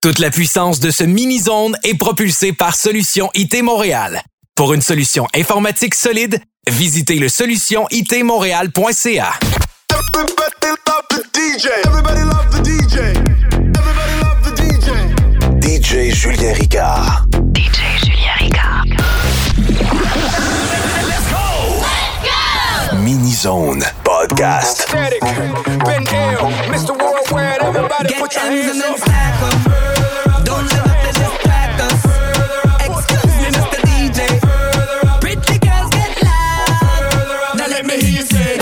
Toute la puissance de ce mini-zone est propulsée par Solutions IT Montréal. Pour une solution informatique solide, visitez le solutionitmontréal.ca. Everybody love the DJ. Everybody love the DJ. DJ Julien Ricard. DJ Julien Ricard. Let's go! Mini-zone podcast. Static, Ben Ill, Mr. Worldwide, everybody put your hands up. Don't let up the distract us. Excuse me, Mr. DJ. Pretty girls get loud. Now let me hear you say.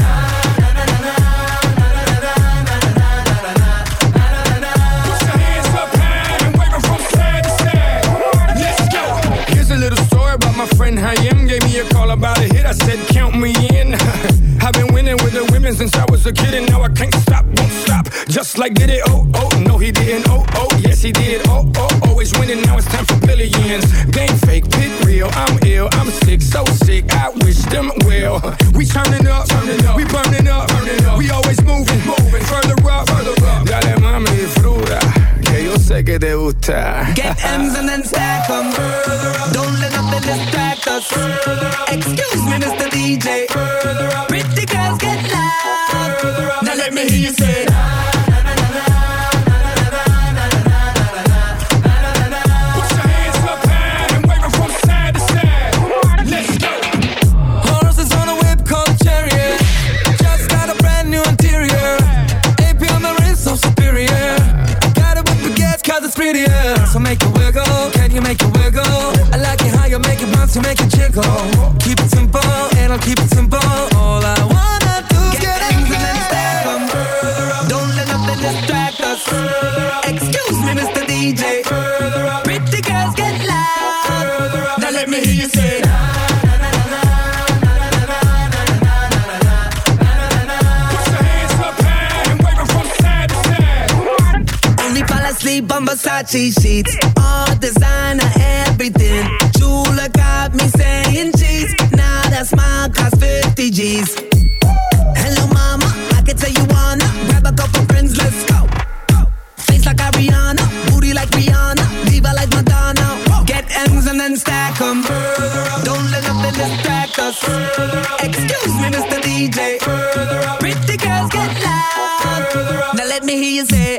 Put your hands up high and wave them from side to side. Let's go. Here's a little story about my friend Hayem. Gave me a call about a hit. I said, count me in. I've been winning with the women since I was a kid, and now I can't stop, won't stop. Just like did it, oh, no he didn't, oh, yes he did, oh, always winning, now it's time for billions. Game fake, pit real, I'm ill, I'm sick, so sick, I wish them well. We turning up, we burning up, we always moving, further up. Dale mami, fruta, que yo sé que te gusta. Get M's and then stack 'em. Don't let nothing distract us. Excuse me, Mr. DJ. Pretty girls get loud. Now let me hear you say. Put your hands up high and wave them from side to side. Let's go. Horses on a whip called chariot. Just got a brand new interior. AP on the wrist, so superior. Got it with baguettes cause it's prettier. So make it wiggle, can you make it wiggle? I like it how you make it bounce, you make it jiggle. Keep it simple, and I'll keep it simple. All I wanna do is get M's and then stack 'em. Don't let nothing distract us. Excuse me, Mr. DJ. Pretty girls get loud. Now let me hear you say. Put your hands up high and wave them from side to side. Only fall asleep on Versace sheets. All designer, everything. Jula got me saying cheese. Now that smile cost 50 G's. Hello mama, I can tell you wanna grab a couple friends, let's go. Face like Ariana, booty like Rihanna, diva like Madonna. Get M's and then stack 'em. Don't let nothing distract us. Excuse me, Mr. DJ. Pretty girls get loud. Now let me hear you say.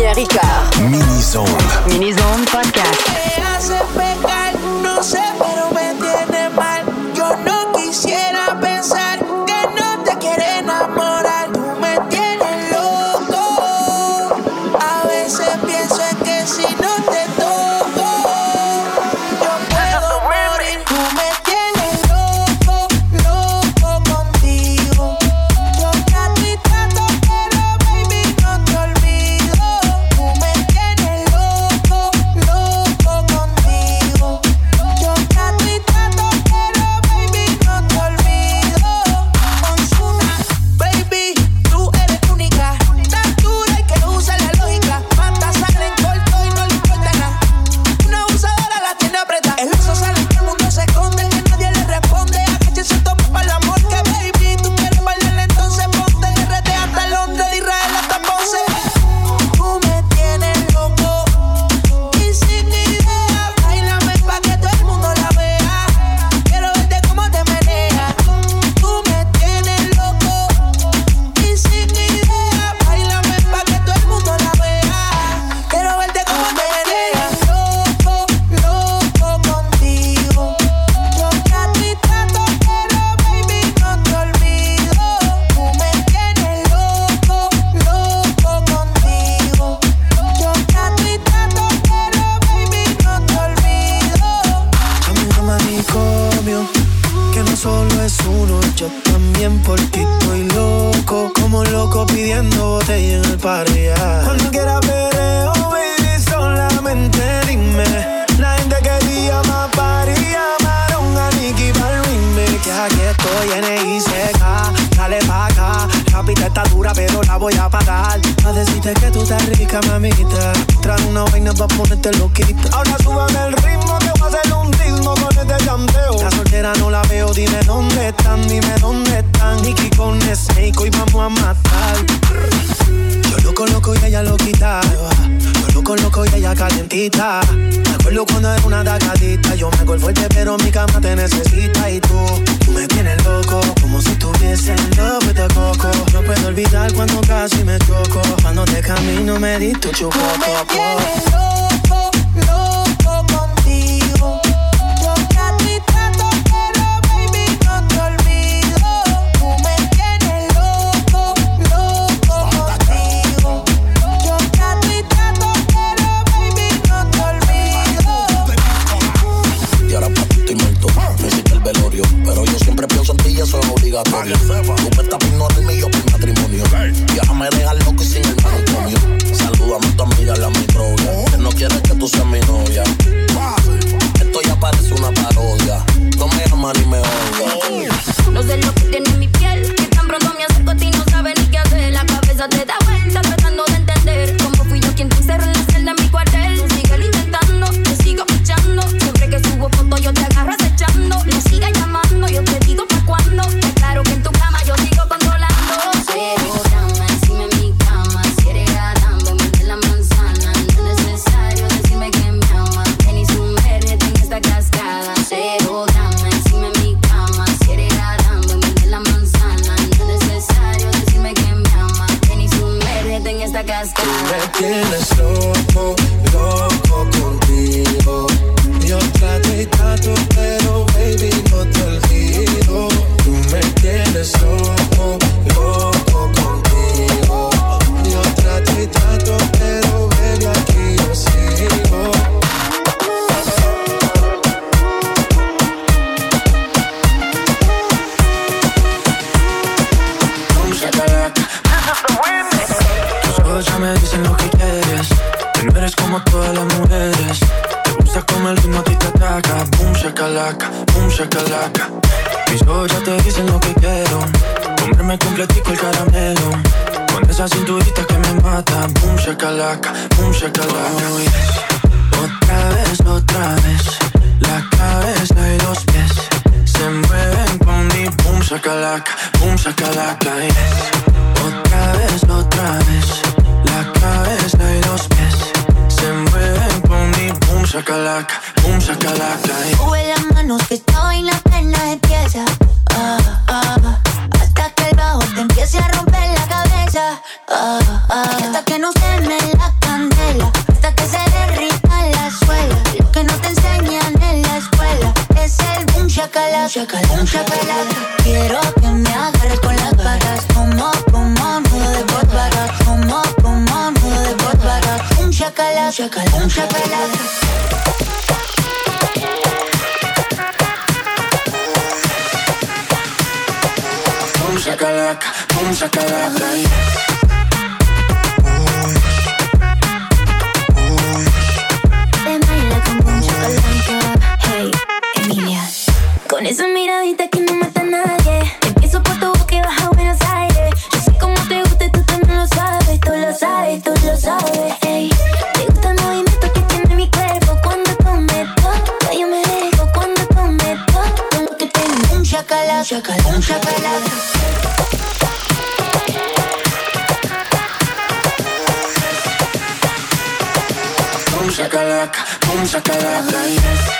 Julien Ricard. Mini-Zone. Mini-Zone Podcast. Me hace pecar, no sé, pero me tiene mal. Yo no quisiera pensar que no te quiere enamorar. Tú me tienes loco. A veces pienso en que si no te toco, yo puedo morir. Tú me tienes loco, loco contigo. Yo trato y trato, pero baby no te olvido. Tú me tienes loco, loco contigo. Yo trato y trato, pero baby no te olvido. Ozuna, baby, tú eres única. Tan dura y que usa la lógica. Mata sangre en corto y no le importa nada. Una abusadora la tiene apretada. El oso sale que el mundo se esconde, que nadie le responde. A que se toma para el amor que baby tú quieres bailar, entonces ponte RT hasta Londres, de Israel hasta Ponce. Tú me tienes loco y sin idea. Báilame pa' que todo el mundo la vea. Quiero verte cómo te meneas. Tú me tienes loco y sin idea. Báilame pa' que todo el mundo la vea. Quiero verte cómo te meneas. Loco, loco contigo. Yo trato y trato, pero baby no te olvido. Tú me tienes loco, loco contigo. Yo trato y trato, pero baby no te olvido. Llamo a manicomio, que no solo es uno, yo también por ti estoy loco, como loco pidiendo botella en el party. Cuando quieras perreo, baby, solamente dime. La gente quería más party, llamaron a Nicky para el remix. Que aquí estoy en ICK, dale pa' acá. La pista está dura, pero la voy a pagar. A decirte que tú estás rica, mamita. Trae una vaina pa' ponerte loquita. Ahora súbame el ritmo, que voy a hacer un ritmo con este llanteo. La soltera no la veo, dime dónde están, dime dónde están. Nicky con Snake, hoy vamos a matar. Yo loco, loco y ella loquita. Yo loco, loco y ella calientita. Me acuerdo cuando era una tacadita. Yo me hago el fuerte, pero mi cama te necesita. Y tú me tienes loco, como si estuviese en love with the coco. No puedo olvidar cuando casi me choco. Cuando te camino me di tu chupo. Tú me tienes loco, loco contigo. Yo trato y trato, pero baby no te olvido. Tú me tienes loco, loco contigo. Yo trato y trato, pero baby no te olvido. Y ahora pa' ti estoy muerto, me hiciste el velorio. Pero yo siempre pienso en ti y eso es obligatorio. Tú me estás por ignorarme y yo por matrimonio. Y ahora me dejas loco y sin el manicomio. Salúdame a tu amiga, la mi novia, que no quiere que tú seas mi novia. Esto ya parece una parodia. No me aman ni me odian. No sé lo que tiene en mi piel, que tan pronto me acerco a ti no sabes ni qué hacer. La cabeza te da vuelta tratando de entender cómo fui yo quien te encerró en la celda en mi cuartel. Síguelo intentando, te sigo pichando. Siempre que subo fotos yo te agarro acechando. No sigas llamando, yo te digo pa' cuándo. Está claro que en tu cama yo sigo controlando. Cero drama encima en mi cama. Si eres Adán, vete la manzana. No es necesario decirme que me amas. Ven y sumérgete en esta cascada. Cero drama encima en mi cama. Si eres Adán, vete la manzana. No es necesario decirme que me amas. Ven y sumérgete en esta cascada. Me tienes loco, loco contigo. Yo trato y trato, pero baby no te olvido. Tú me tienes loco, loco contigo. Yo trato y trato, pero baby aquí yo sigo. Tus ojos ya me dicen lo que quieres. Que no eres como todas las mujeres. Te gusta como el ritmo a ti te ataca. Boom shakalaka, boom shakalaka. Mis ojos ya te dicen lo que quiero. Comerme completico el caramelo. Con esa cinturita que me mata. Boom shakalaka, boom shakalaka. Oh, yes. Otra vez. La cabeza y los pies se mueven con mi boom shakalaka, yes. Otra vez. La cabeza y los pies se mueven con mi boom shakalaka, yes. Sube las manos que esta vaina apenas empieza. Hasta que el bajo te empiece a romper la cabeza. besa. Hasta que no se me la candela, hasta que se derrita la suela. Lo que no te enseñan en la escuela es el boom shakalaka, boom shakalaka. Quiero que me agarres con las patas, como nudo de Volkswagen, como nudo de Volkswagen. Boom shakalaka, boom shakalaka. Boom shakalaka, boom shakalaka. Hey, Emilia. Con esa miradita que no mata a nadie. Empiezo por tu boca y baja a Buenos Aires. Yo sé cómo te gusta y tú también lo sabes. Tú lo sabes, tú lo sabes. Hey, te gusta el movimiento que tiene mi cuerpo. Cuando tú me tocas, yo me dejo. Cuando tú me tocas, con lo que tengo. Un shakalaka, un shakalaka. Boom shakalaka, boom shakalaka, yes.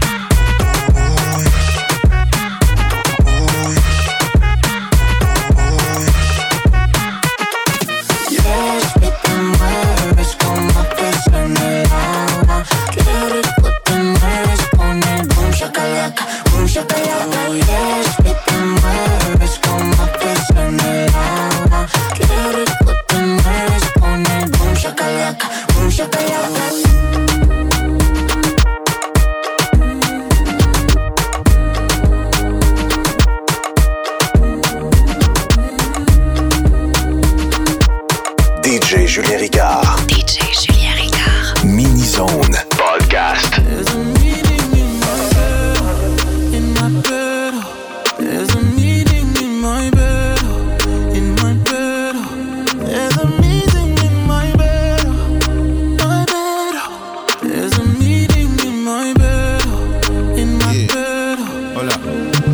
DJ Julien Ricard. DJ Julien Ricard. Mini Zone Podcast. There's a meeting in my bed, in my bed. There's a meeting in my bed, in my bed. There's a meeting in my bed, my bed. There's a meeting in my bed, in my bed. Hold up.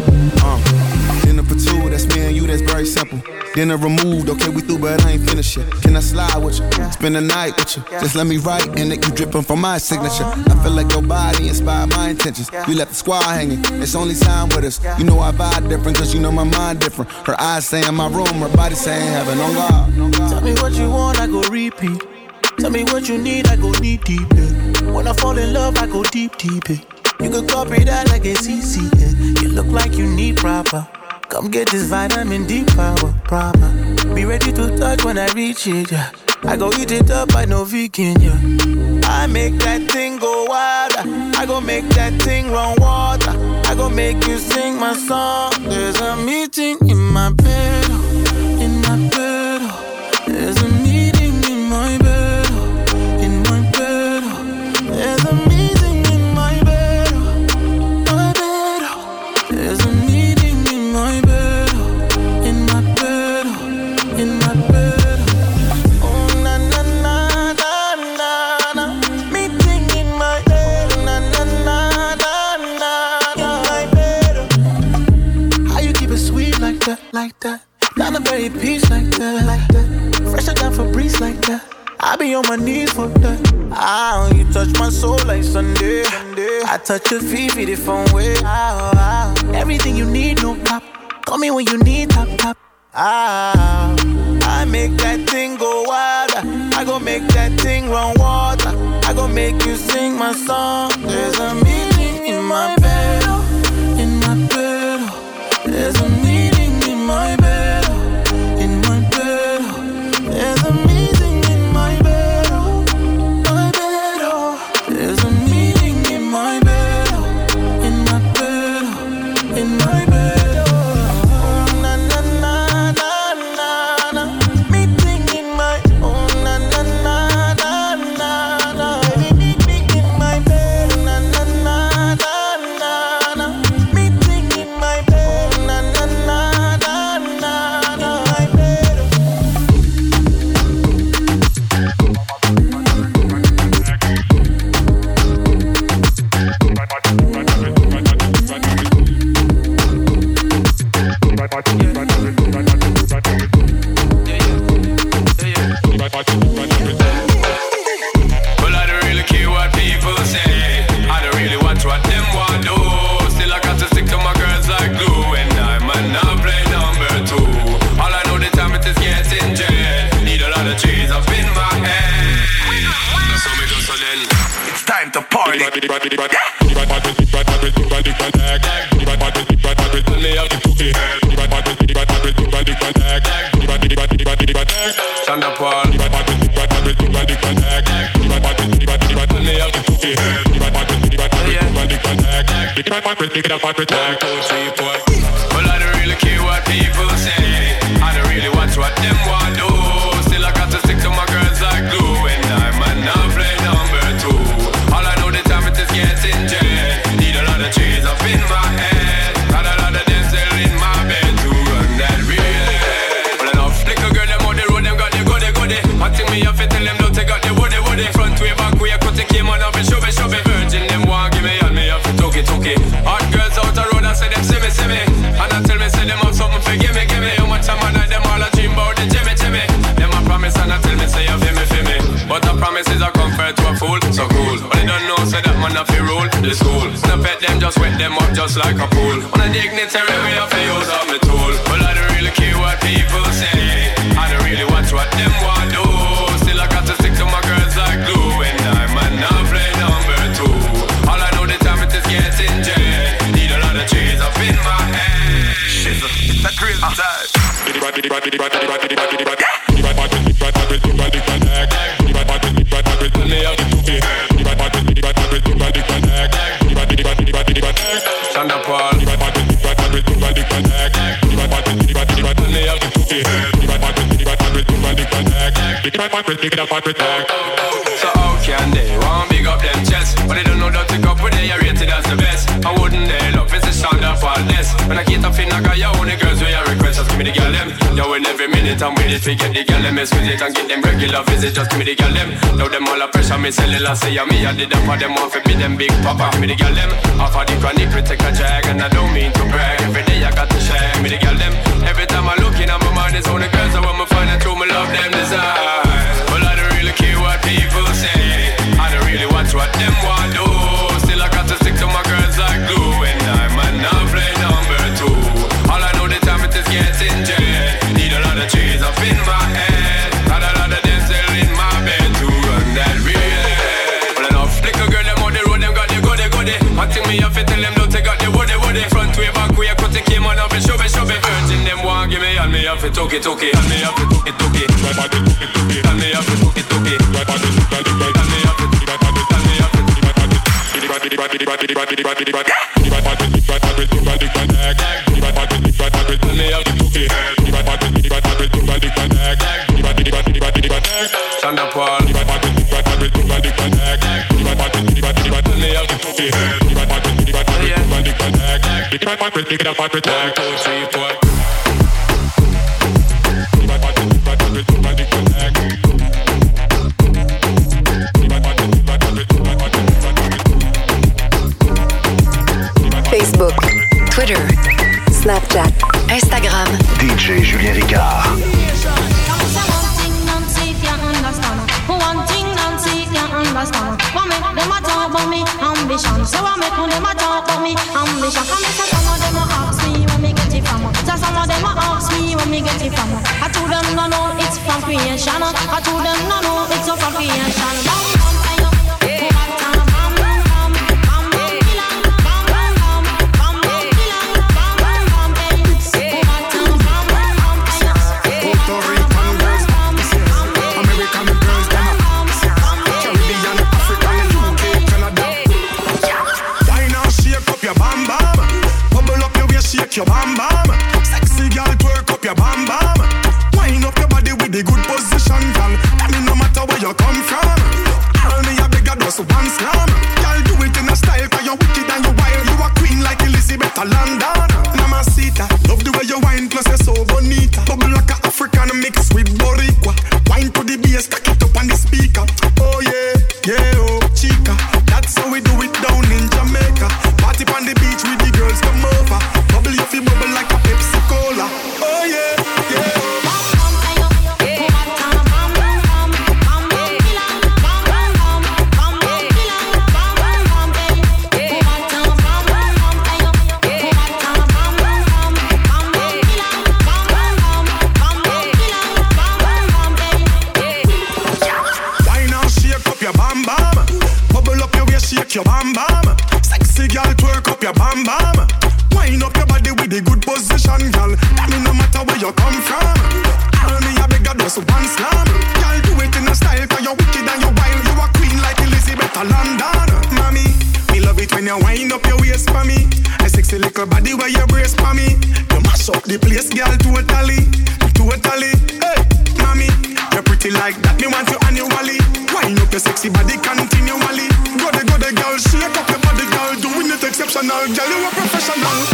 Dinner for two, that's me and you, that's very simple. Dinner removed, okay, we through, but I ain't finished yet. Can I slide with you? Spend the night with you. Just let me write, and it you dripping from my signature. I feel like your body inspired my intentions. We left the squad hanging, it's only time with us. You know I vibe different, cause you know my mind different. Her eyes say in my room, her body saying heaven on God. Tell me what you want, I go repeat. Tell me what you need, I go knee deep. When I fall in love, I go deep, deep. You could copy that like it's easy. You look like you need proper. Come get this vitamin D power, proper. Be ready to touch when I reach it, yeah. I go eat it up, I know vegan, yeah. I make that thing go wilder. I go make that thing run water. I go make you sing my song. There's a meeting in my bed, in my bed. There's a meeting in my bed, in my bed. There's a meeting in my bed, my bed. There's a meeting in my bed, in my bed, in my bed. Oh na na na na na na. Meeting in my bed, na na na na na. In my bed. How you keep it sweet like that, like that? Down the very peach like that, like that. Fresher than Febreze like that. I be on my knees for that. Ah, you touch my soul like Sunday. I touch your feet the phone way. Everything you need, no pop. Call me when you need top. I make that thing go wilder. I go make that thing run water. I go make you sing my song. There's a meeting in my bed, in my bed. There's a meeting in my bed, in my bed. There's a meeting in my bed, my bed. There's a meeting in my bed, in my bed, in my bed. Oh na na na na na na. Meeting in my, oh na na na na na na. Meeting in my bed, na na Well, I don't really care what people say. I don't really watch what them want do. Still I got to stick to my girls like glue. And I might not play number two. All I know the time it is getting jet. Need a lot of trees up in my head. Got a lot of them still in my bed to run that real. Well, enough little girl them on the road, them got the goody. One thing me have to tell them don't take out the woody. Front way, back way, cut the came on up and show me. Virgin them want give me all me have to took it. Hot girls out the road, I say them see me. And I tell me say them have something for give me. How much time I night them all a dream about the Jimmy. Them a promise and I tell me say you feel me. But the promises are compared to a fool, so cool. But they don't know say that man have to rule the school. Snap at them, just wet them up just like a pool. On a dignitary way have to use up my tool. Well I don't really care what people say. I don't really watch what them want do. Still I got to stick to my girls like glue. And I might not play number two. All I know the time it is getting jet. Need a lot of trees up in my head. Shit, it's a crazy time. Chanda Paul. So how can they want big up them chests? But they don't know that to go with they are rated as the best. I wouldn't they love it's a Chanda Paul this. When I get up in I got your only girls where you request just give me the girl them. Yo in every minute I'm with it to get the girl them. Squeeze it and get them regular visit just give me the girl them. Now them all a pressure me cellular say me I did them for them off it be them big papa. Give me the girl them. Off of the chronic we take a drag and I don't mean to brag. Every day I got to share me the girl them. Every time I look in at my mind it's only girls I want me find out through my love them desire. Well I don't really care what people say. I don't really watch what them want do. Still I got to stick to my girls like glue. And I might not play number two. All I know the time it is getting jet. Need a lot of trees up in my head. Got a lot of them still in my bed to run that real. Well enough little girl them on the road, them got the goody. One thing me have to tell them don't take out the woody. Front way, back way, cut the came on up and show me. Virgin them want give me all me have to took it. All me have to took it. All me have to took it. Chanda Paul. Facebook, Twitter, Snapchat, Instagram. DJ Julien Ricard. One thing Nancy can't understand. What make them a talk about me ambition? So what make them a talk about me ambition? Come here, some of them a ask me where me get it from. So some of them a ask me where me get it from. I told them no, it's from creation. I told them no, it's from creation. Your bam bam, sexy girl, twerk up your bam bam. Wind up your body with the good position, girl. That mean no matter where you come from. All me a bigger just one slam. Girl, do it in a style 'cause you're wicked and you're wild. You a queen like Elizabeth of London. Mamacita, love the way you wine, plus you're so bonita. Bubble like a African mix with Boricua. Wine to the bass, cock it up on the speaker. Oh yeah, oh chica. That's how we do it down in Jamaica. Party on the beach with the girls come over. Bubble you feel bubble like a Pepsi Cola. Oh yeah. Why now shake up your bam bam? Bubble up your waist, shake your bam. your bam bam. Wind up your body with the good position, girl. That mean no matter where you come from. All me a beg you just one slam. Girl, do it in a style 'cause you're wicked and you're wild. You a queen like Elizabeth of London. Mommy, me love it when you wind up your waist for me. A sexy little body where you brace for me. You mash up the place, girl, totally. Totally, hey, mommy, you're pretty like that, me want you annually. Wind up your sexy body continually. Go the girl, shake up your body, girl. Doing it exceptional, girl, you a professional.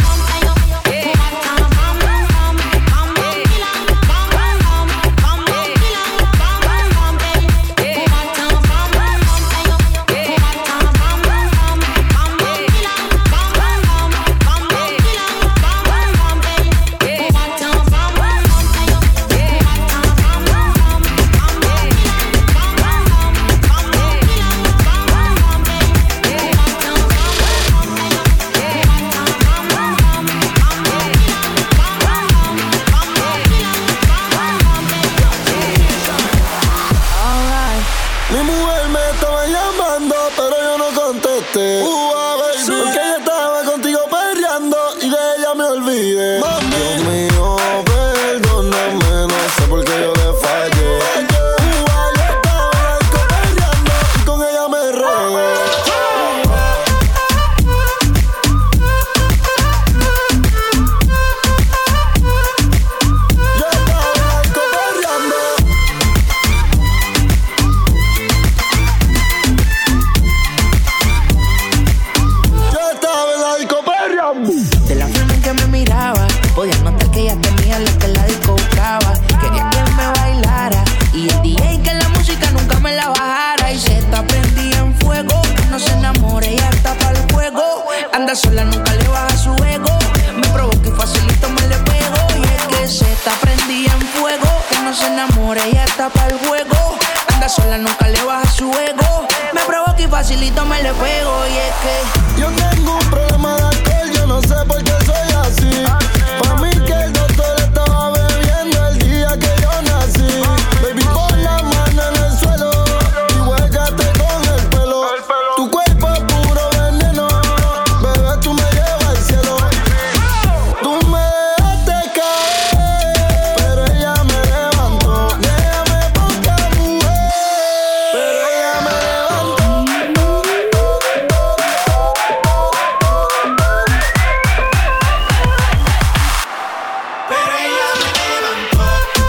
Sola nunca le baja su ego. Me provoca y facilito me le pego. Y es que se está prendida en fuego. Que no se enamore, ella está para el juego. Anda sola, nunca le baja su ego. Me provoca y facilito me le pego. Y es que yo tengo un problema de alcohol. Yo no sé por qué soy así. Pa' mí que el doctor estaba bebiendo el día que yo nací. Baby, pon la mano en el suelo y huélgate con el pelo. Tu cuerpo es puro veneno. Tú me llevas al cielo. Tú me dejaste caer, pero ella me levantó. Déjame poca mujer, pero ella me levantó. Pero ella me levantó.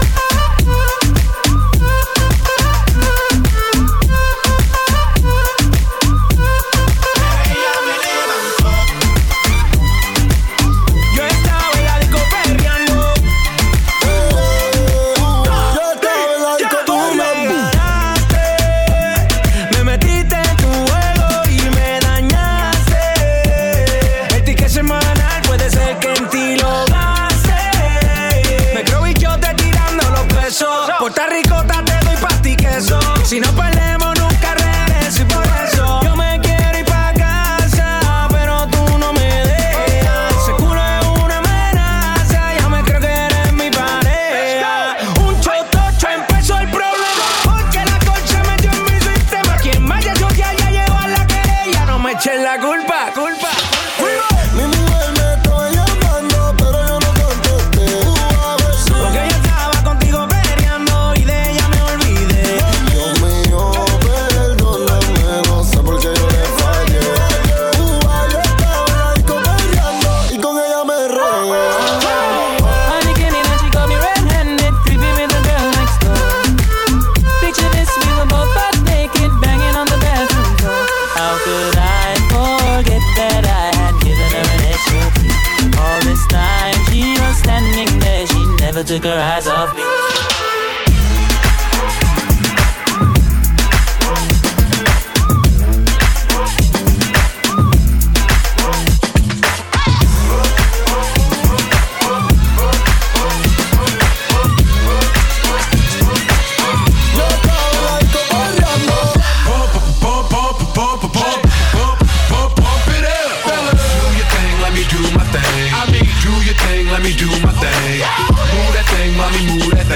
Puerto Rico te doy pa' ti queso. Si no perdemos nunca regreso. Y por eso yo me quiero ir pa' casa, pero tú no me dejas. Seguro es una amenaza. Ya me creo que eres mi pareja. Un chotocho empezó el problema, porque la concha metió en mi sistema. Quien vaya a chotear ya llegó a la querella. No me echen la culpa. Mi mujer me estaba llamando, pero yo no contesté. Porque ella estaba contigo peleando y de ella me olvidé. Dios mío, perdóname, no sé por qué yo le fallé. Yo estaba en la disco peleando y con ella me regué. Honey came in and she got me red-handed, creeping with the girl next door. Picture this, we were both butt naked, banging on the bathroom door. How could I forget that I had given her an extra key? All this time she was standing there, she never took her eyes off me. Let me do my thing. Move that thing, mommy, move that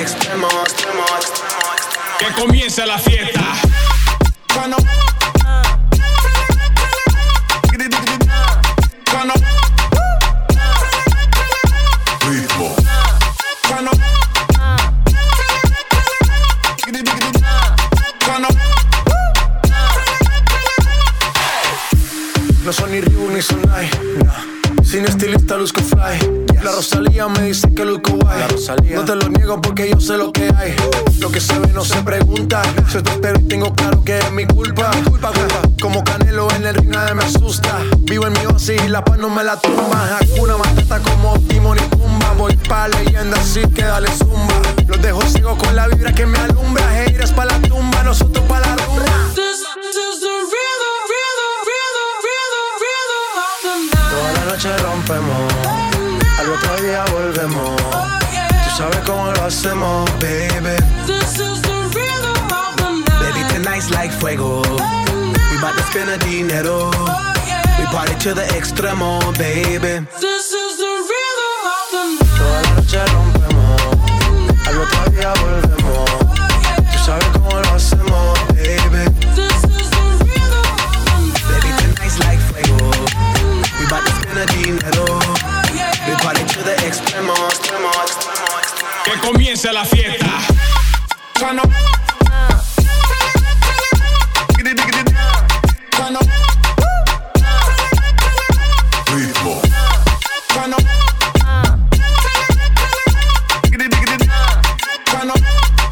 extremo, extremo, extremo. Que comience la fiesta. Turn up. Turn up. Ritmo. Turn up. Turn up. No son ni Reebok ni Sonai, nah. Sin estilista luzco fly. La Rosalía me dice que luzco guay. No te lo niego porque yo sé lo que hay. Lo que se ve no se pregunta. Soy tu espero y tengo claro que es mi culpa. Como Canelo en el ring nadie me asusta. Vivo en mi oasis y la paz no me la tumba. Hakuna Matata como Timon y Pumba. Voy pa' leyenda así que dale zumba. Los dejo ciego con la vibra que me alumbra. Haters pa' la tumba, nosotros pa' la rumba. Toda la noche rompemos, al otro día volvemos. Tú sabes cómo lo hacemos, baby. Baby, tonight's like fuego. We bout to spend a dinero. We party to the extremo, baby. Toda la noche rompemos, al otro día volvemos. Tú sabes cómo lo hacemos, baby. Baby, tonight's like fuego. We bout to spend a dinero. We party to the extremo, extremo, extremo, extremo. Que comience la fiesta. Turn up. Turn up. Ritmo. Turn up. Turn up.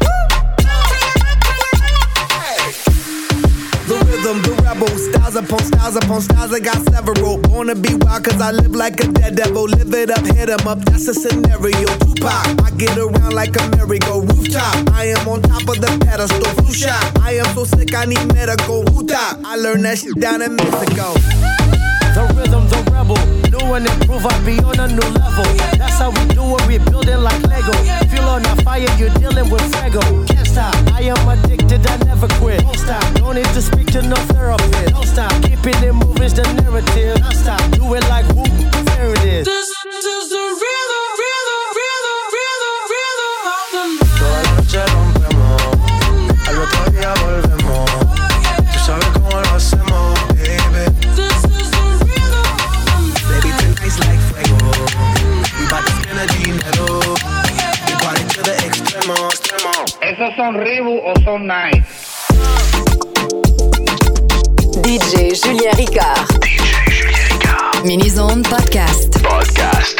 The rhythm, the rebel, styles upon styles upon styles, I got several. Wanna be wild cause I live like a dead devil. Live it up, hit 'em up, that's a scenario. Tupac, I get around like a merry-go rooftop. I am on top of the pedestal, flu shot. I am so sick, I need medical. Hootah, I learned that shit down in Mexico. The rhythm, the rebel, new and improve, I be on a new level. That's how we do it, we building like Lego. Feel on a fire, you're dealing with Fuego. Can't stop, I am addicted, I never quit. Don't stop, don't need to speak to no therapist. Don't stop, keeping it moving's the narrative. Don't stop, do it like whoop, there it is. This is the rhythm, rhythm, rhythm, rhythm, rhythm of the night. Toda la noche rompemos, al otro día volvemos. Tú sabes cómo lo hacemos, baby. It's like fuego. We bout to spend a dinero. We party to the extremo, extremo. ¿Esos son Reebok o son Nike? DJ Julien Ricard. DJ Julien Ricard. Mini-Zone Podcast. Podcast.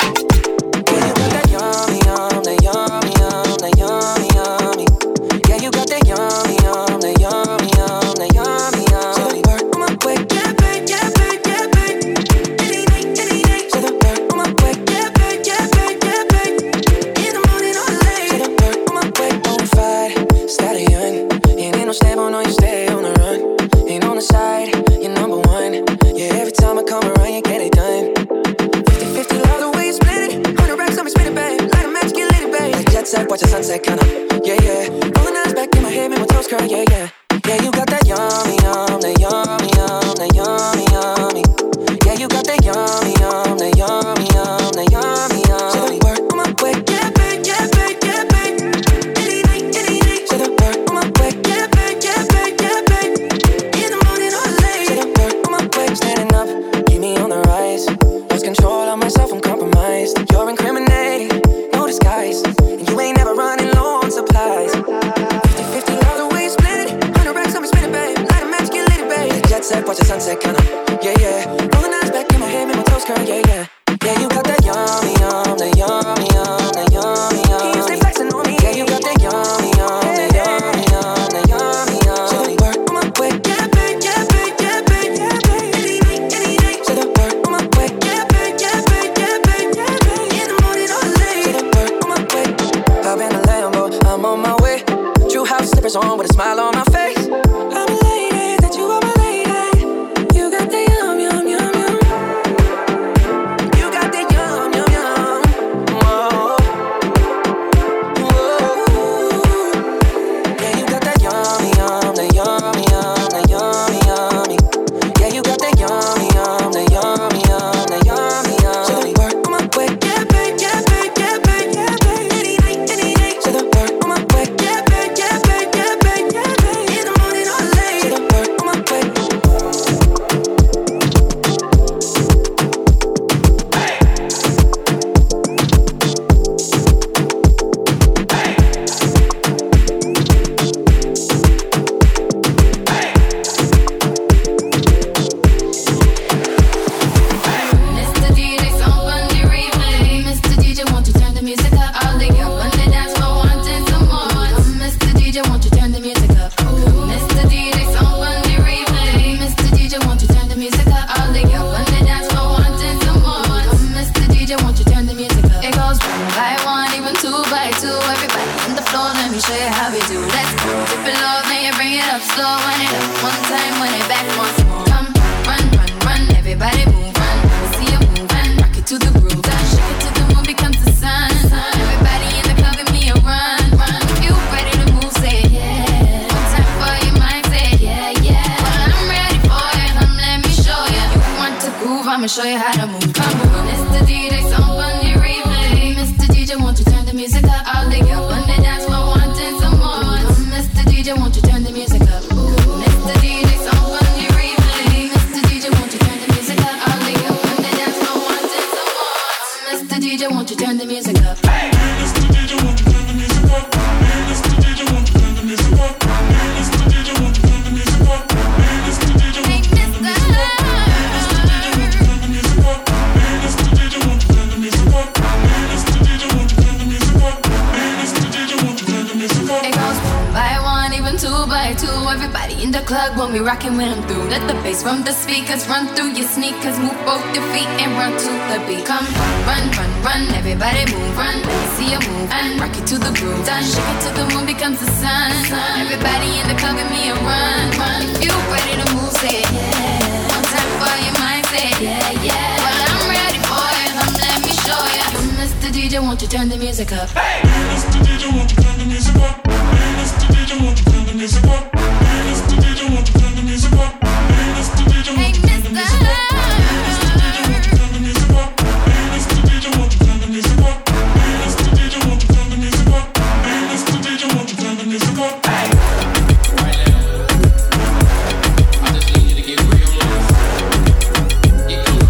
Watch the sunset kinda, yeah, yeah. Rolling eyes back in my head, make my toes curl, yeah, yeah. Yeah, you got that yummy, yum, that yummy, yum, that yummy, yummy. Yeah, you got that yummy, yum, that yummy, yum, that yummy, yummy. So the work on my way, yeah, babe, yeah, babe, yeah, babe. Any night, so the work on my way, yeah, babe, yeah, babe, yeah, babe. In the morning or late, so the work on my way. Standing up, keep me on the rise. Lost control of myself, I'm compromised. You're incriminating, no disguise. You ain't never running low on supplies. 50-50 love the way you split it. 100 racks on me, spin it, babe. Light a match, get lit, babe. Jet set, watch the sunset, kinda. Yeah, yeah. Rolling eyes back in my head, make my toes curl, yeah, yeah. Yeah, you got that yummy, yum, that yummy, yum, that yummy, yum. You stay flexing on me. Yeah, you got that yummy, yum, that yummy, yum, that yummy, yum. So the work on my way, yeah, babe, yeah, babe, yeah, babe, yeah, babe. Any night, so the work on my way, yeah, babe, yeah, babe, yeah, babe, yeah, babe. In the morning or late, so the work on my way. Hop in the Lambo, I'm on my way. True house slippers on with a smile on my face. I'm a lady, that you are my lady. You got the yum, yum, yum, yum. You got the yum, yum, yum. Whoa. Whoa. Yeah, you got that yummy, yum, that yummy, yum, that yummy, yummy. Yeah, you got that yummy, yum, that yummy, yum, that yummy, yum. So the work on my way, yeah, babe, yeah, babe, yeah, babe, yeah, babe. Any night, so the work on my even 2 by 2. Everybody on the floor, let me show you how we do. Let's go. Dip it low, then you bring it up slow. Wind it up one time, wind it back once more. Come, run, run, run, everybody move, run. See you move, run, rock it to the groove. Done, shake it till the moon becomes the sun. Everybody in the club, give me a run, run. If you ready to move, say yeah. One time for your mind, say yeah, yeah. Well, I'm ready for you, come let me show you. You want to groove, I'ma show you how to move. Come on, it's the DJ, song on your replay. Mr. DJ, won't you turn the music up? All the girls on the dance floor wanting some more. Mr. DJ, won't you turn the music up? Mr. DJ, song on your replay. Mr. DJ, won't you turn the music up? All the girls on the dance floor wanting some more. Mr. DJ, won't you turn the music up? Hey! Mr. DJ, won't you turn the music up? Mr. DJ, won't you turn the music up? Mr. DJ, won't you turn the music up? Mr. DJ, won't you turn the music up? Everybody in the club when we rockin' when I'm through. Let the bass from the speakers run through your sneakers. Move both your feet and run to the beat. Come run, run, run, everybody move, run. Let me see you move and rock it to the groove. Done, shake it till the moon becomes the sun. Everybody in the club give me a run, run. If you ready to move, say yeah. One time for your mind, say yeah, yeah. Well, I'm ready for you, come let me show you. Mr. DJ, won't you turn the music up? Hey! Mr. DJ, won't you turn the music up? Mr. DJ, won't you turn the music up? Mr. DJ, won't you turn the music up? Mr. DJ, won't you turn the music up? Mr. DJ, won't you turn the music up? Mr. DJ, won't you turn the music up? Mr. DJ, won't you turn the music up? Mr. DJ, won't you turn the music up? Hey! Right now, I just need you to get real loose. Get cool.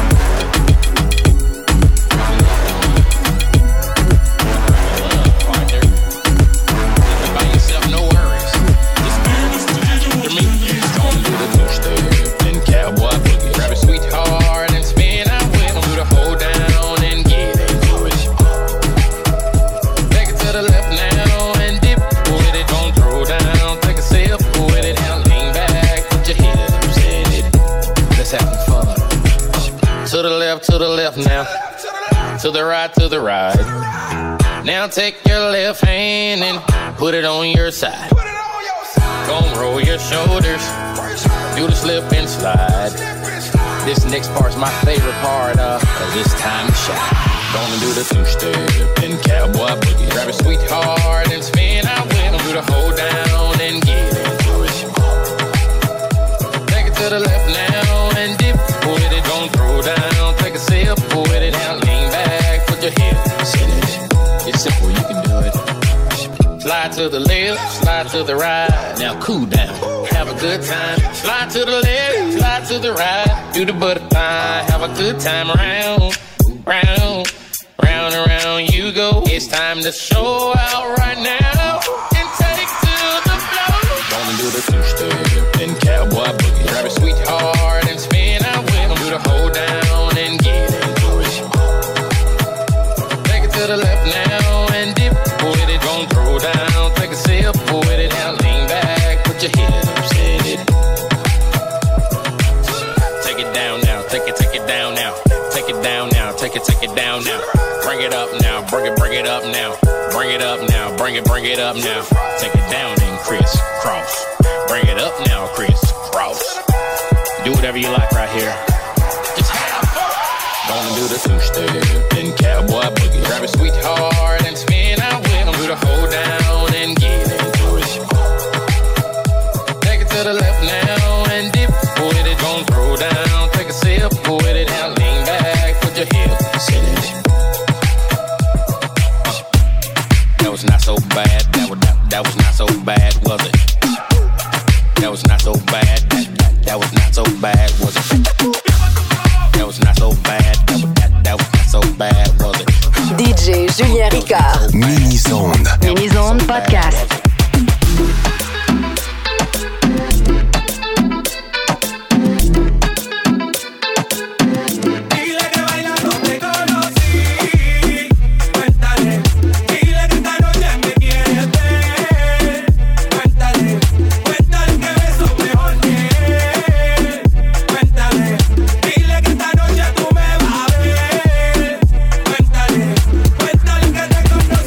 To the left now, to the right. Now take your left hand and put it on your side. Gonna roll your shoulders, do the slip and slide. This next part's my favorite part, cause it's time to shine. Gonna do the two-step and cowboy boogie. Grab a sweetheart and spin out with them. Do the hold down and get into it. Take it to the left now and dip with it. Don't throw down, take a sip with it. Now lean back, put your hips in it. It's simple, you can do it. Slide to the left, slide to the right. Now cool down, have a good time. Slide to the left, slide to the right. Do the butterfly, have a good time. Round, round, round and round you go. It's time to show out right now and take to the floor. Gonna do the two-step and cowboy boogie. Grab a sweetheart and spin out with them. Do the hold down and get into it. Take it to the left now and dip with it. Don't throw down, take a sip with it. Now lean back, put your hips in it. Take it down now, take it down now. Take it down now, take it down now. Bring it up now, bring it up now. Bring it up now, bring it up now. Take it down and crisscross. Bring it up now, crisscross. Do whatever you like right here. Just have fun. Gonna do the two-step and cowboy boogie. Grab a sweetheart and spin out with them. Do the hold down and get into it. Take it to the left now and dip with it. Don't throw down, take a sip with it. Now lean back, put your hips in it. That was not so bad. That was not so bad, was it? That was not so bad. That was not so bad, was it? That was not so bad. That was not so bad, was it? DJ Julien Ricard. Mini-Zone. Mini-Zone Podcast. Cuéntale que te conocí.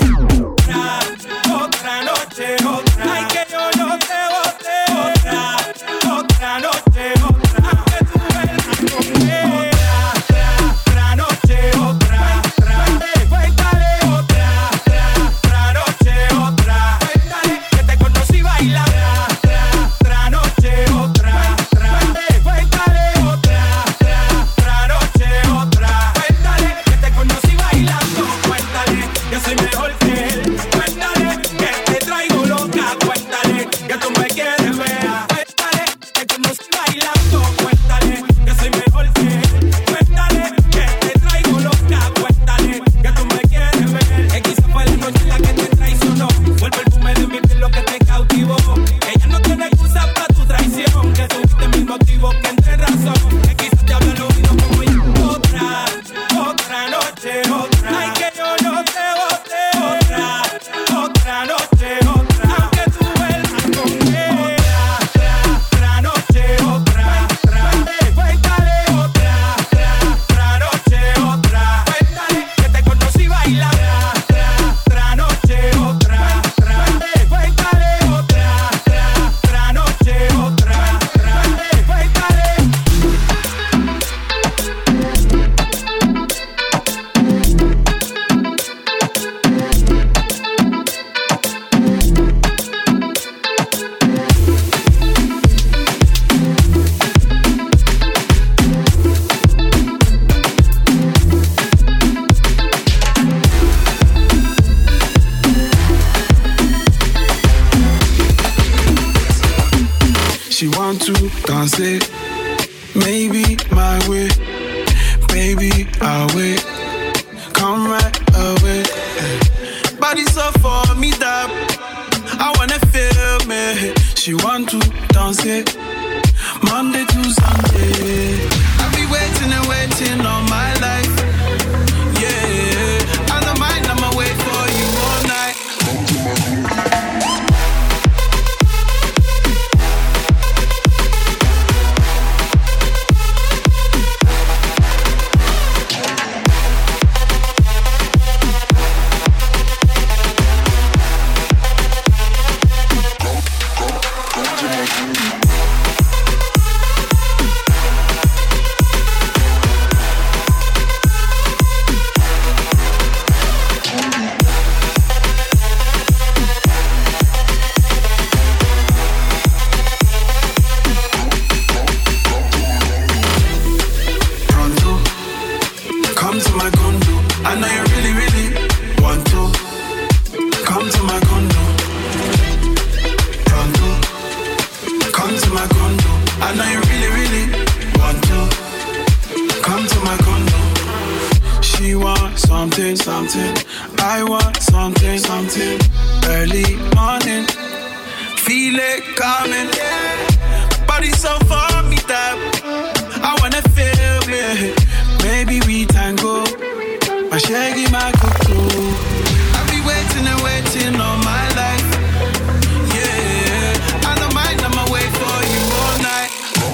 She want to dance it, maybe my way. Baby, I'll wait. Come right away. Body so for me that I wanna feel me. She want to dance it, Monday to Sunday. I'll be waiting and waiting all my life. Yeah, I don't mind, I'ma wait for you all night. I want something early morning. Feel it coming. Body so for me that I wanna feel it. Maybe we tango. My shaggy, my cuckoo. I'll be waiting and waiting all my life. Yeah, I don't mind, I'ma wait for you all night.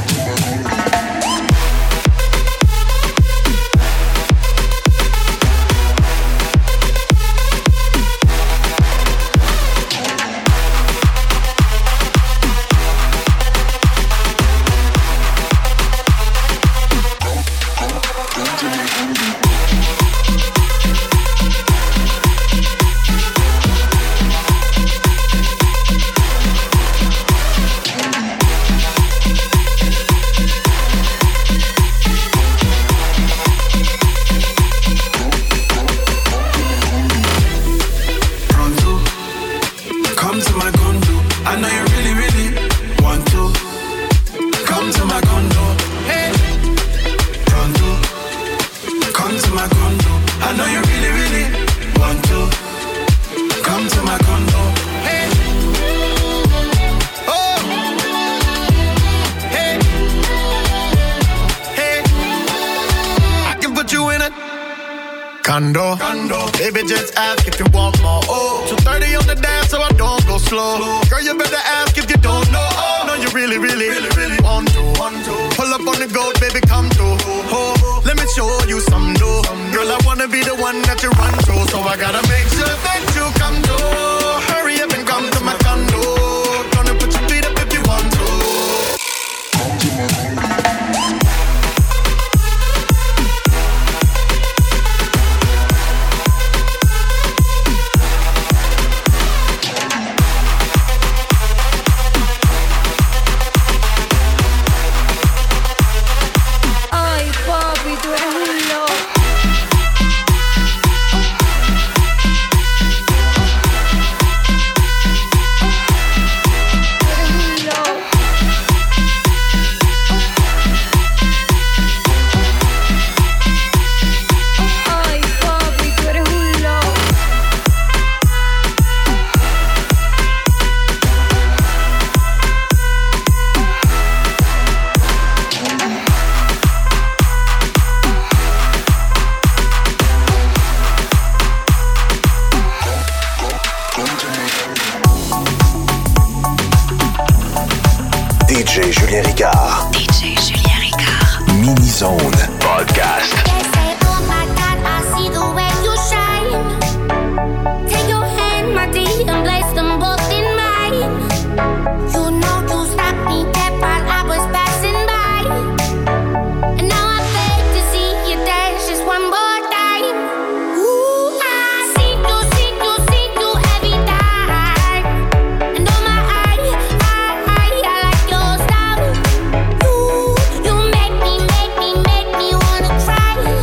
Condo. Baby, just ask if you want more. Oh, 2:30 on the dance, so I don't go slow. Girl, you better ask if you don't know. Oh, no, you really want to. Pull up on the goat, baby, come through. Oh, let me show you some dough. Girl, I wanna be the one that you run to, so I gotta make sure that you come through. Hurry up and come to my condo. Gonna put your feet up if you want to. Come to my condo. DJ Julien Ricard. DJ Julien Ricard. Mini Zone Podcast. They say, oh my God, I see the way you shine. Take your hand, my dear, and place them both in mine. You know you stopped me dead while I was passing by. And now I beg to see you dance just one more time. Ooh, I see you every time. And oh my, I like your style. You make me wanna cry.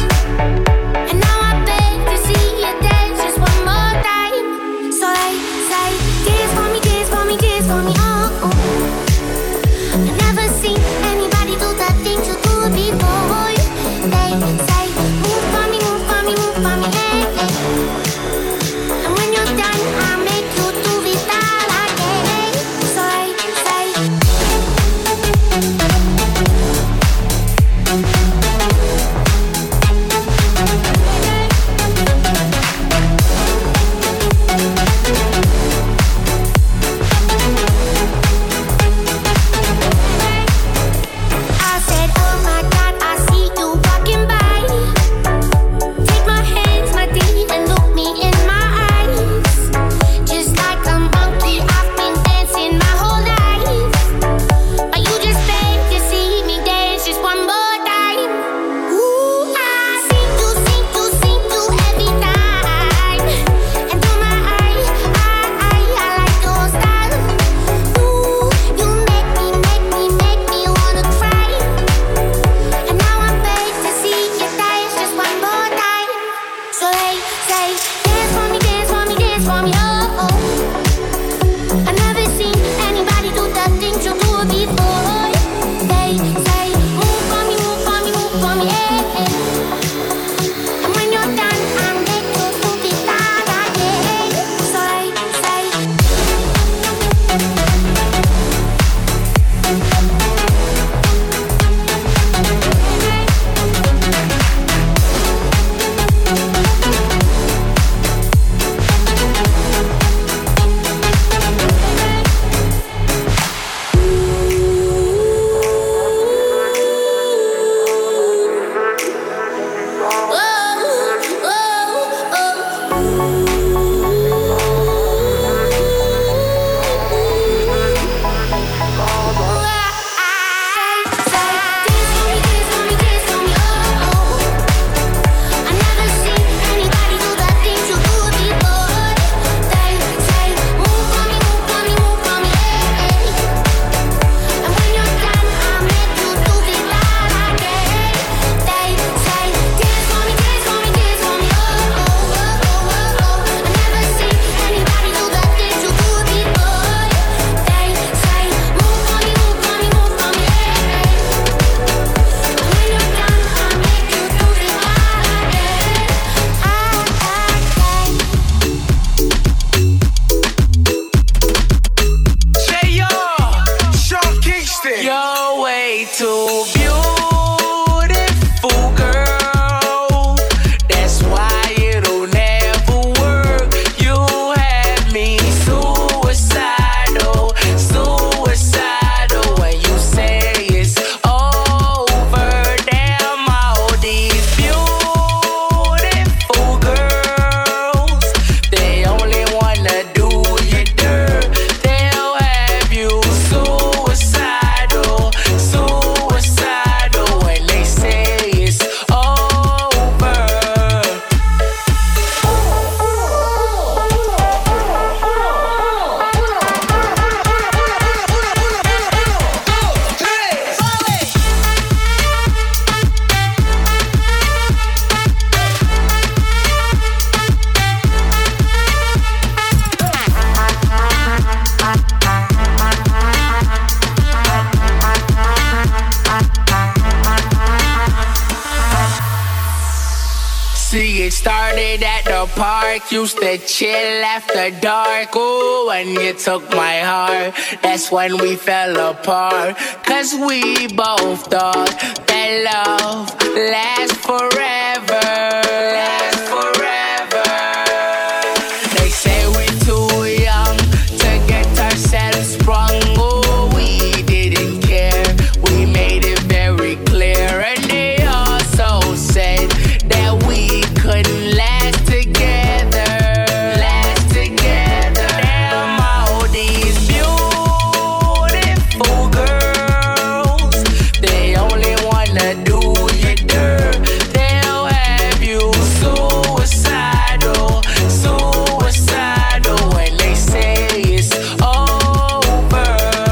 Central Park, used to chill after dark. Ooh, when you took my heart, that's when we fell apart. Cause we both thought that love lasts forever. Lasts forever. They say we're too young to get ourselves sprung. Ooh, we didn't care, we made it very clear. And they also said that we couldn't last together. Last together. Damn, all these beautiful girls, they only wanna do you dirt. They'll have you suicidal, suicidal when they say it's over.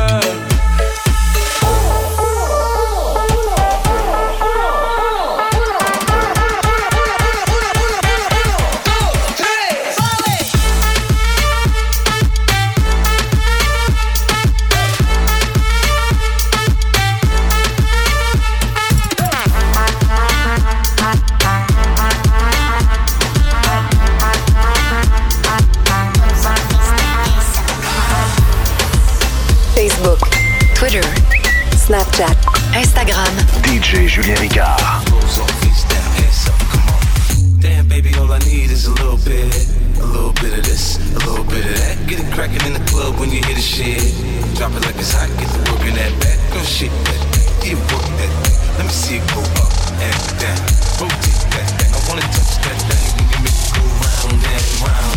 Facebook, Twitter, Snapchat, Instagram. DJ Julien Ricard. Damn, baby, all I need is a little bit of this, a little bit of that. Get it crackin' in the club when you hear the shit. Drop it like it's hot, get the work in that back. Don't shit that, yeah, work that. Let me see it go up and down. Rotate that. I wanna touch that thing when you make it go round and round.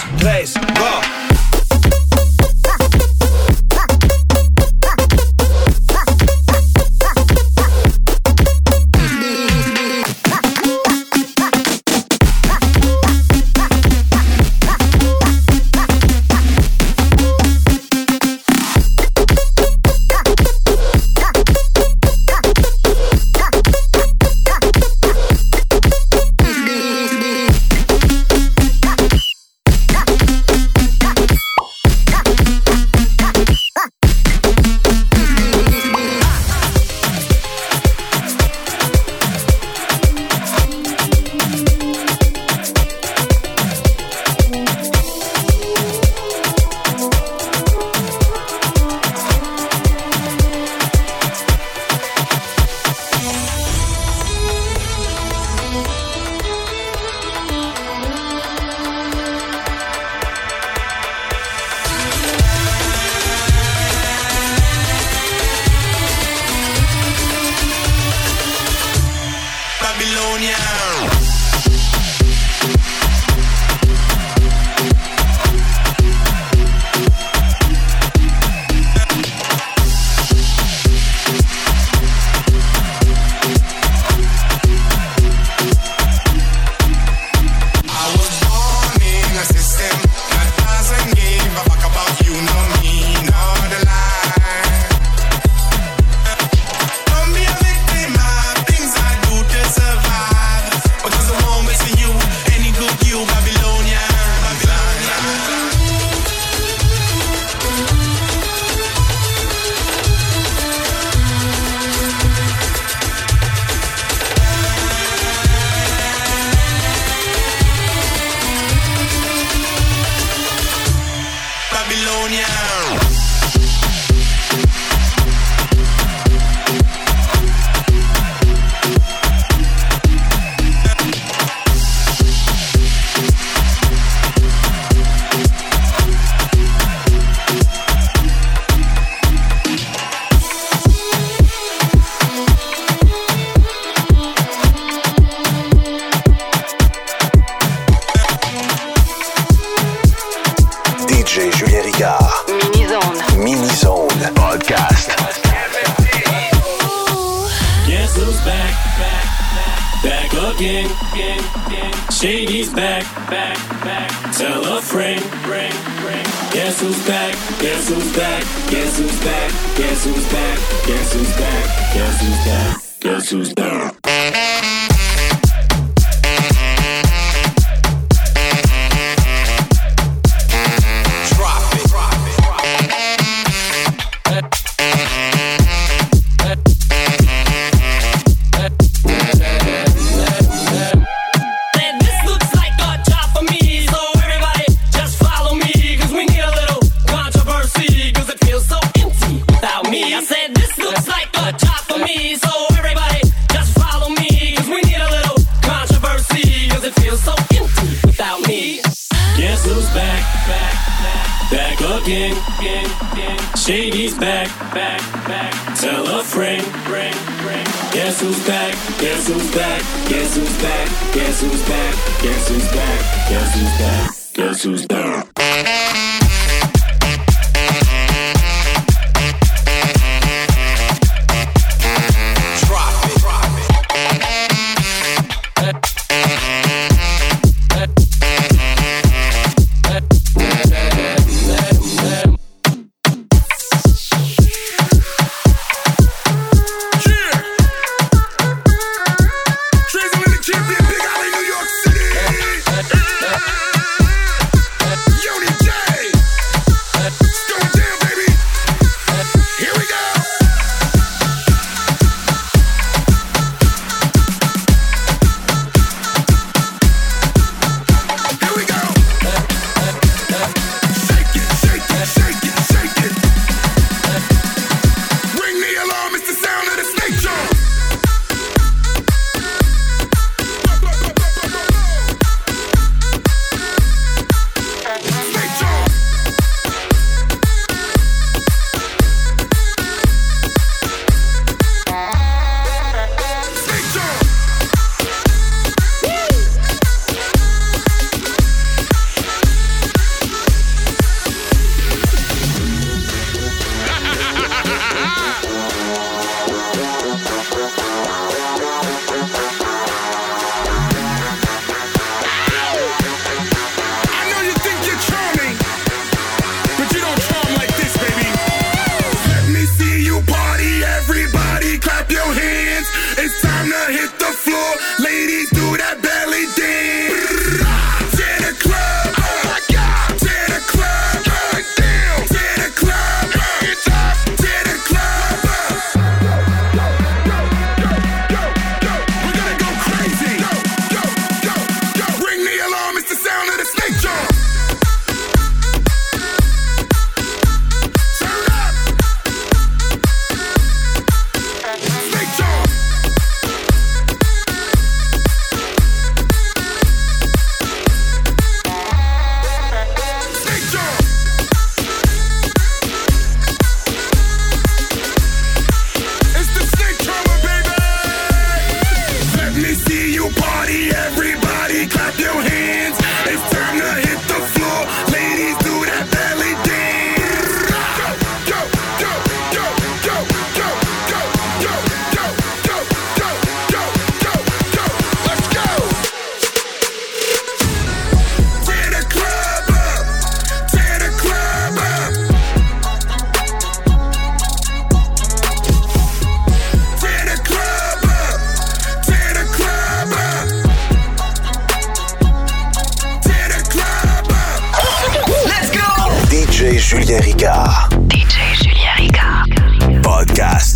3, go! Big Alley, New York City. Unity J. Ladies, do that belly dance. Tear the club up. Oh my God. Tear the club up. Down. Tear the club up. It's up. Tear the club up. We're gonna go crazy. Go. Ring the alarm. It's the sound of the snake drum. Turn up. Snake drum. Party, everybody clap your hands. It's time to hit the floor. Ladies, do that belly dance. Go, go, go, go, go, go, go, go, go, go, go, go, go. Let's go. Tear the club up. Tear the club up. Tear the club up. Tear the club up. DJ Julien Ricard. Podcast.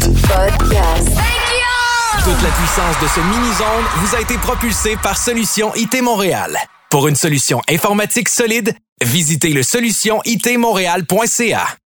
Toute la puissance de ce mini-zone vous a été propulsée par Solution IT Montréal. Pour une solution informatique solide, visitez le solutionitmontréal.ca.